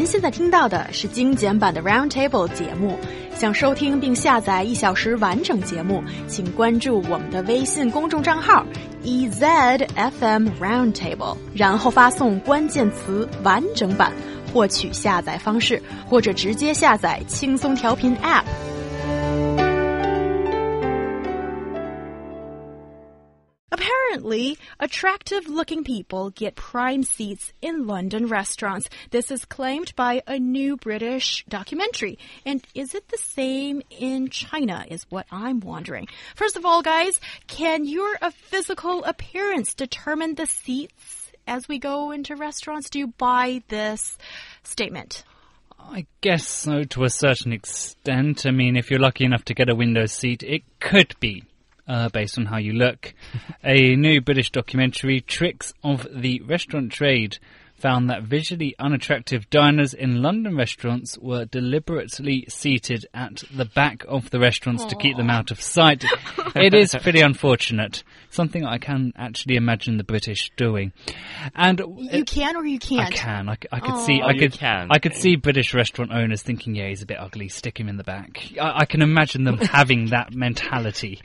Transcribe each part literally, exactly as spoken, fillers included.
现在听到的是精简版的 Roundtable 节目。想收听并下载一小时完整节目，请关注我们的微信公众账号 E Z F M Roundtable， 然后发送关键词完整版获取下载方式，或者直接下载轻松调频 App。Apparently, attractive-looking people get prime seats in London restaurants. This is claimed by a new British documentary. And is it the same in China, is what I'm wondering. First of all, guys, can your physical appearance determine the seats as we go into restaurants? Do you buy this statement? I guess so, to a certain extent. I mean, if you're lucky enough to get a window seat, it could be. Uh, based on how you look. A new British documentary, Tricks of the Restaurant Trade, found that visually unattractive diners in London restaurants were deliberately seated at the back of the restaurants Aww. to keep them out of sight. It is pretty unfortunate. Something I can actually imagine the British doing. And you it, can or you can't? I can. I, I could Aww. see. I oh, could. Can. I could see British restaurant owners thinking, "Yeah, he's a bit ugly. Stick him in the back." I, I can imagine them having that mentality.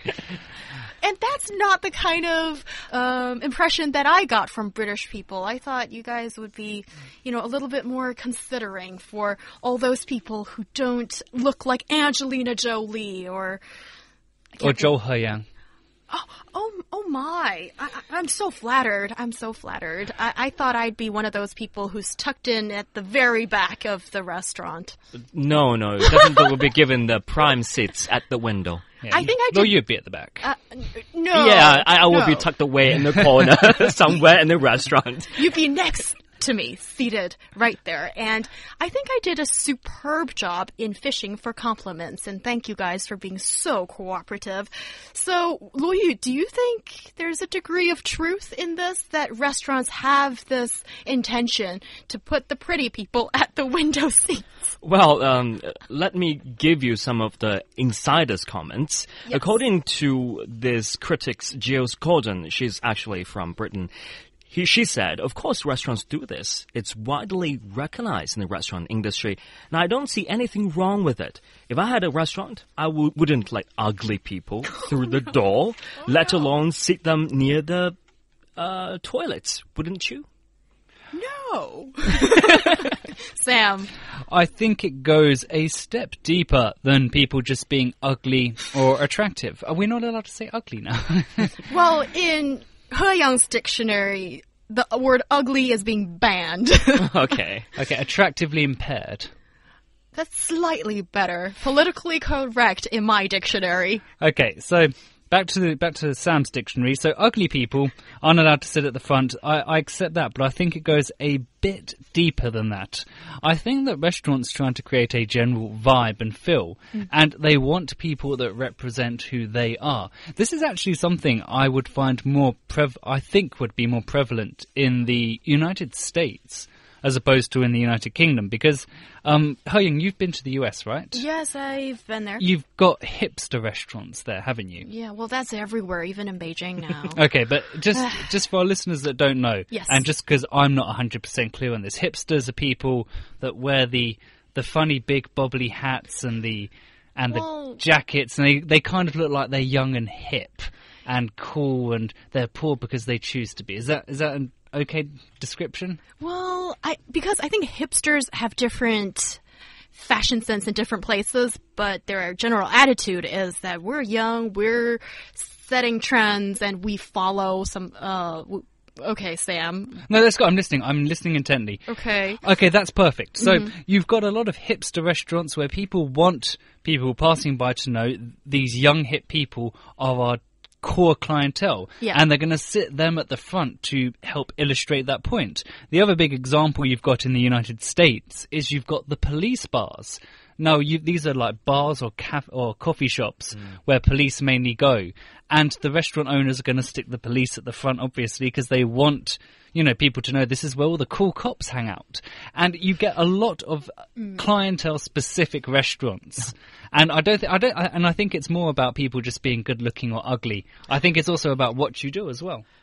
And that's not the kind of um, impression that I got from British people. I thought you guys would be, you know, a little bit more considering for all those people who don't look like Angelina Jolie or... Or Zhou Heyang. Oh, oh, oh my. I, I'm so flattered. I'm so flattered. I, I thought I'd be one of those people who's tucked in at the very back of the restaurant. No, no. Definitely will be given the prime seats at the window. Yeah, I think I did. No, you'd be at the back. Uh, no. Yeah, I, I will no. be tucked away in the corner somewhere in the restaurant. You'd be next to me, seated right there. And I think I did a superb job in fishing for compliments. And thank you guys for being so cooperative. So, Luo Yu, do you think there's a degree of truth in this, that restaurants have this intention to put the pretty people at the window seats? Well, um, let me give you some of the insiders' comments. Yes. According to this critic's Giles Gordon, she's actually from Britain. He, she said, of course restaurants do this. It's widely recognized in the restaurant industry. And I don't see anything wrong with it. If I had a restaurant, I w wouldn't let ugly people through the door, oh, let no. alone sit them near the uh, toilets, wouldn't you? No. Sam. I think it goes a step deeper than people just being ugly or attractive. Are we not allowed to say ugly now? Well, in He Yang's dictionary, the word ugly is being banned. Okay. Okay, attractively impaired. That's slightly better. Politically correct in my dictionary. Okay, so back to the, back to Sam's dictionary. So ugly people aren't allowed to sit at the front. I, I accept that, but I think it goes a bit deeper than that. I think that restaurants trying to create a general vibe and feel, mm. and they want people that represent who they are. This is actually something I would find more prev- I think would be more prevalent in the United States as opposed to in the United Kingdom, because um, Heying, you've been to the U S, right? Yes, I've been there. You've got hipster restaurants there, haven't you? Yeah, well, that's everywhere, even in Beijing now. Okay, but just just for our listeners that don't know, yes. and just because I'm not one hundred percent clear on this, hipsters are people that wear the the funny big bobbly hats and the and well, the jackets, and they, they kind of look like they're young and hip and cool, and they're poor because they choose to be. Is that is that an okay description? Well, I because I think hipsters have different fashion sense in different places, but their general attitude is that we're young, we're setting trends, and we follow some... Uh, okay, Sam. No, let's go. I'm listening. I'm listening intently. Okay. Okay, that's perfect. So mm-hmm. you've got a lot of hipster restaurants where people want people passing by to know these young hip people are our core clientele, yeah. and they're going to sit them at the front to help illustrate that point. The other big example you've got in the United States is you've got the police bars. Now, you, these are like bars or caf- or coffee shops mm. where police mainly go, and the restaurant owners are going to stick the police at the front, obviously, because they want, you know, people to know this is where all the cool cops hang out. And you get a lot of mm. clientele-specific restaurants. And I don't, th- I don't, I, and I think it's more about people just being good-looking or ugly. I think it's also about what you do as well.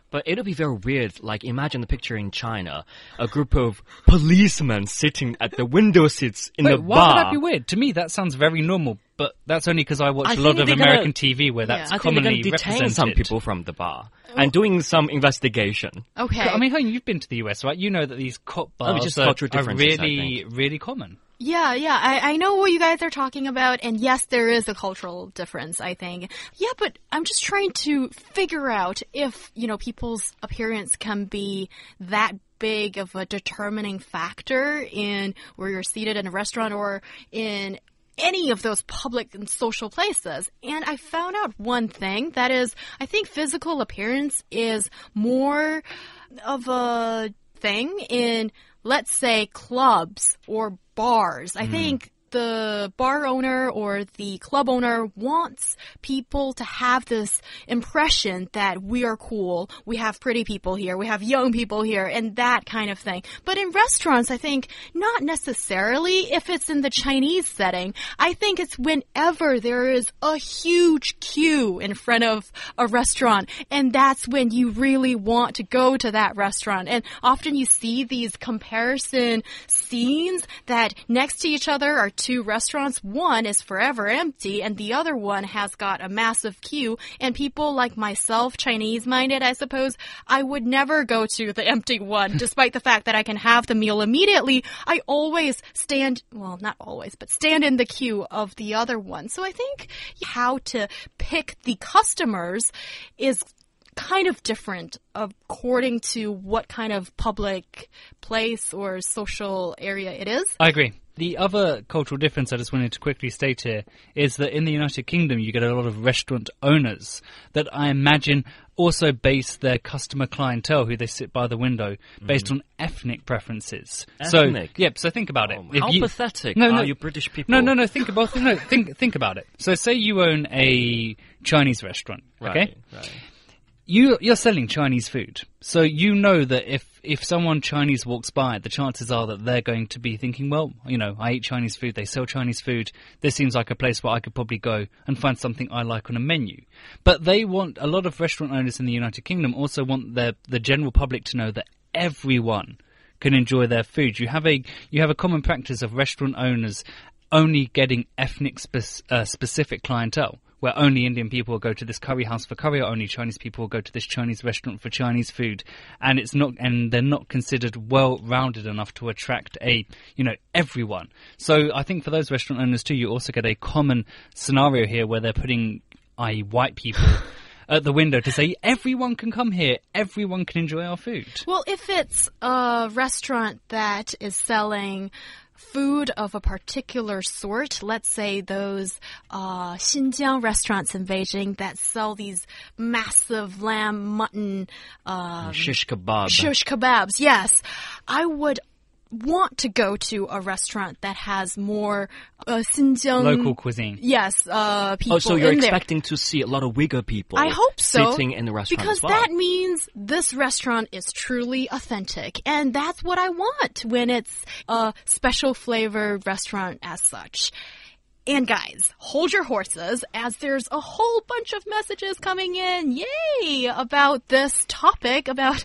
But it'll be very weird. Like, imagine the picture in China. A group of policemen sitting at the window seats in Wait, the why bar. would that be weird? To me, that sounds very normal. But that's only because I watch I a lot think of they're gonna- American T V where that's Yeah. I think they're commonly going to detain represented. some people from the bar and doing some investigation. Okay. I mean, Hong, you've been to the U S, right? You know that these cop I mean, bars just are, cultural are differences, I really, really common. Yeah, yeah, I, I know what you guys are talking about, and yes, there is a cultural difference, I think. Yeah, but I'm just trying to figure out if, you know, people's appearance can be that big of a determining factor in where you're seated in a restaurant or in any of those public and social places. And I found out one thing, that is, I think physical appearance is more of a thing in, let's say, clubs or bars. I think the bar owner or the club owner wants people to have this impression that we are cool, we have pretty people here, we have young people here, and that kind of thing. But in restaurants, I think not necessarily if it's in the Chinese setting. I think it's whenever there is a huge queue in front of a restaurant, and that's when you really want to go to that restaurant. And often you see these comparison scenes that next to each other are two restaurants. One is forever empty and the other one has got a massive queue, and people like myself, Chinese minded, I suppose, I would never go to the empty one despite the fact that I can have the meal immediately. I always stand, well, not always, but stand in the queue of the other one. So I think how to pick the customers is kind of different according to what kind of public place or social area it is. I agree. The other cultural difference I just wanted to quickly state here is that in the United Kingdom you get a lot of restaurant owners that I imagine also base their customer clientele, who they sit by the window, based mm. on ethnic preferences. Ethnic? So, yep, so think about it. Oh, If how you, pathetic no, no, are you British people? No, no, no, think about no, think think about it. So say you own a Chinese restaurant, okay? Right, right. You, you're selling Chinese food, so you know that if, if someone Chinese walks by, the chances are that they're going to be thinking, well, you know, I eat Chinese food, they sell Chinese food, this seems like a place where I could probably go and find something I like on a menu. But they want, a lot of restaurant owners in the United Kingdom also want their, the general public to know that everyone can enjoy their food. You have a, you have a common practice of restaurant owners only getting ethnic spe- uh, specific clientele, where only Indian people will go to this curry house for curry, or only Chinese people will go to this Chinese restaurant for Chinese food, and it's not, and they're not considered well-rounded enough to attract a, you know, everyone. So I think for those restaurant owners too, you also get a common scenario here where they're putting, that is, white people at the window to say everyone can come here, everyone can enjoy our food. Well, if it's a restaurant that is selling food of a particular sort, let's say those uh, Xinjiang restaurants in Beijing that sell these massive lamb, mutton, um, shish kebab. Shish kebabs, yes. I would want to go to a restaurant that has more uh, Xinjiang local cuisine. Yes, uh, people. Oh, so you're in expecting there. to see a lot of Uyghur people. I hope so, sitting in the restaurant because as well. that means this restaurant is truly authentic, and that's what I want when it's a special flavored restaurant as such. And guys, hold your horses, as there's a whole bunch of messages coming in, yay, about this topic, about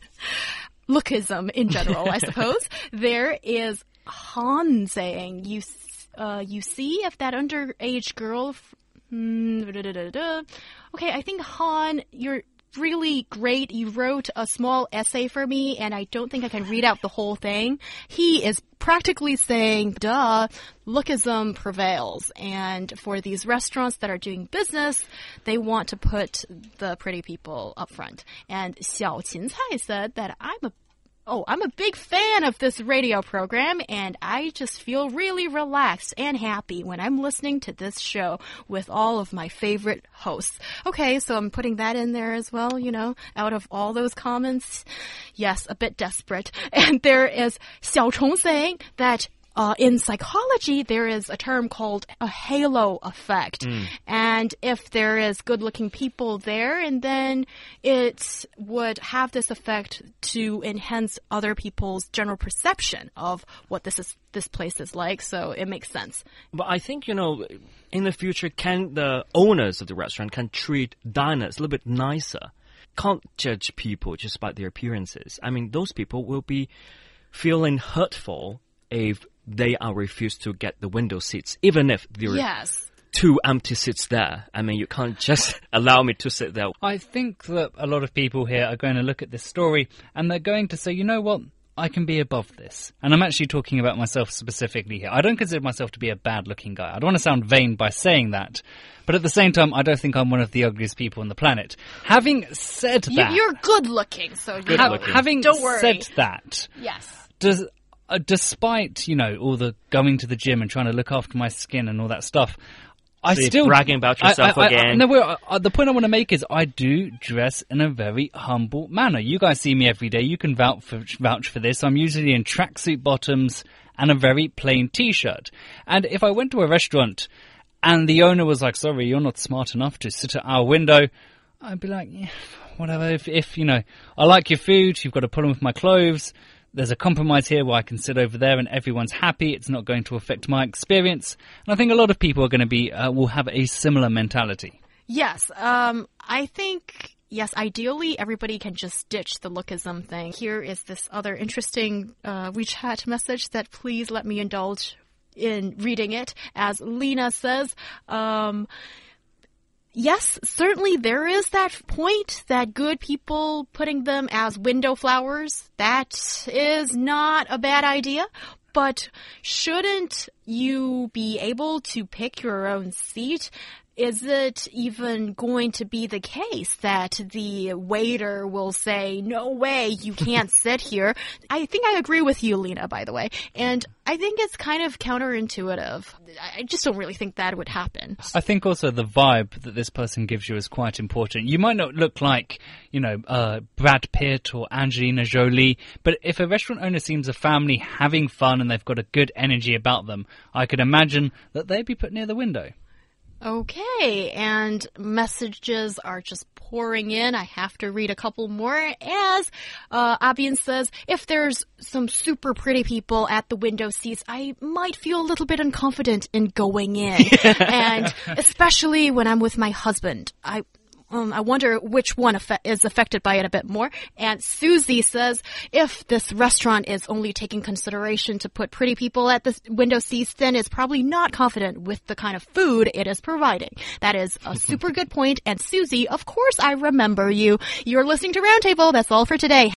lookism in general, I suppose. There is Han saying, you uh, you see if that underage girl... Hmm, da, da, da, da. Okay, I think Han, you're really great. You wrote a small essay for me, and I don't think I can read out the whole thing. He is practically saying, duh, lookism prevails. And for these restaurants that are doing business, they want to put the pretty people up front. And Xiao Qincai said that I'm a Oh, I'm a big fan of this radio program, and I just feel really relaxed and happy when I'm listening to this show with all of my favorite hosts. Okay, so I'm putting that in there as well, you know, out of all those comments. Yes, a bit desperate. And there is Xiao Chong saying that Uh, in psychology, there is a term called a halo effect. Mm. And if there is good-looking people there, and then it would have this effect to enhance other people's general perception of what this is, this place is like. So it makes sense. But I think, you know, in the future, can the owners of the restaurant can treat diners a little bit nicer? can't judge people just by their appearances. I mean, those people will be feeling hurtful if they are refused to get the window seats, even if there are Yes. two empty seats there. I mean, you can't just allow me to sit there. I think that a lot of people here are going to look at this story and they're going to say, you know what? I can be above this. And I'm actually talking about myself specifically here. I don't consider myself to be a bad-looking guy. I don't want to sound vain by saying that. But at the same time, I don't think I'm one of the ugliest people on the planet. Having said You, that... you're good looking, so you ha- know, having don't worry. said that... Yes. Does... Uh, despite, you know, all the going to the gym and trying to look after my skin and all that stuff, I So you're still bragging about yourself I, I, I, again. no, well, uh, the point I want to make is I do dress in a very humble manner. You guys see me every day. You can vouch for, vouch for this. I'm usually in tracksuit bottoms and a very plain T-shirt. And if I went to a restaurant and the owner was like, "Sorry, you're not smart enough to sit at our window," I'd be like, "Yeah, whatever. If, if you know, I like your food, you've got a problem with my clothes. There's a compromise here where I can sit over there and everyone's happy. It's not going to affect my experience." And I think a lot of people are going to be, uh, will have a similar mentality. Yes. Um, I think, yes, ideally everybody can just ditch the lookism thing. Here is this other interesting uh, WeChat message that please let me indulge in reading it. As Lena says, um, yes, certainly there is that point that good people putting them as window flowers, that is not a bad idea. But shouldn't you be able to pick your own seat? Is it even going to be the case that the waiter will say, "No way, you can't sit here"? I think I agree with you, Lena, by the way. And I think it's kind of counterintuitive. I just don't really think that would happen. I think also the vibe that this person gives you is quite important. You might not look like, you know, uh, Brad Pitt or Angelina Jolie, but if a restaurant owner seems a family having fun and they've got a good energy about them, I could imagine that they'd be put near the window. Okay, and messages are just pouring in. I have to read a couple more. As uh, Abian says, if there's some super pretty people at the window seats, I might feel a little bit unconfident in going in. And especially when I'm with my husband. I... Um, I wonder which one affe- is affected by it a bit more. And Susie says, if this restaurant is only taking consideration to put pretty people at the window seats, then it's probably not confident with the kind of food it is providing. That is a super good point. And Susie, of course I remember you. You're listening to Roundtable. That's all for today.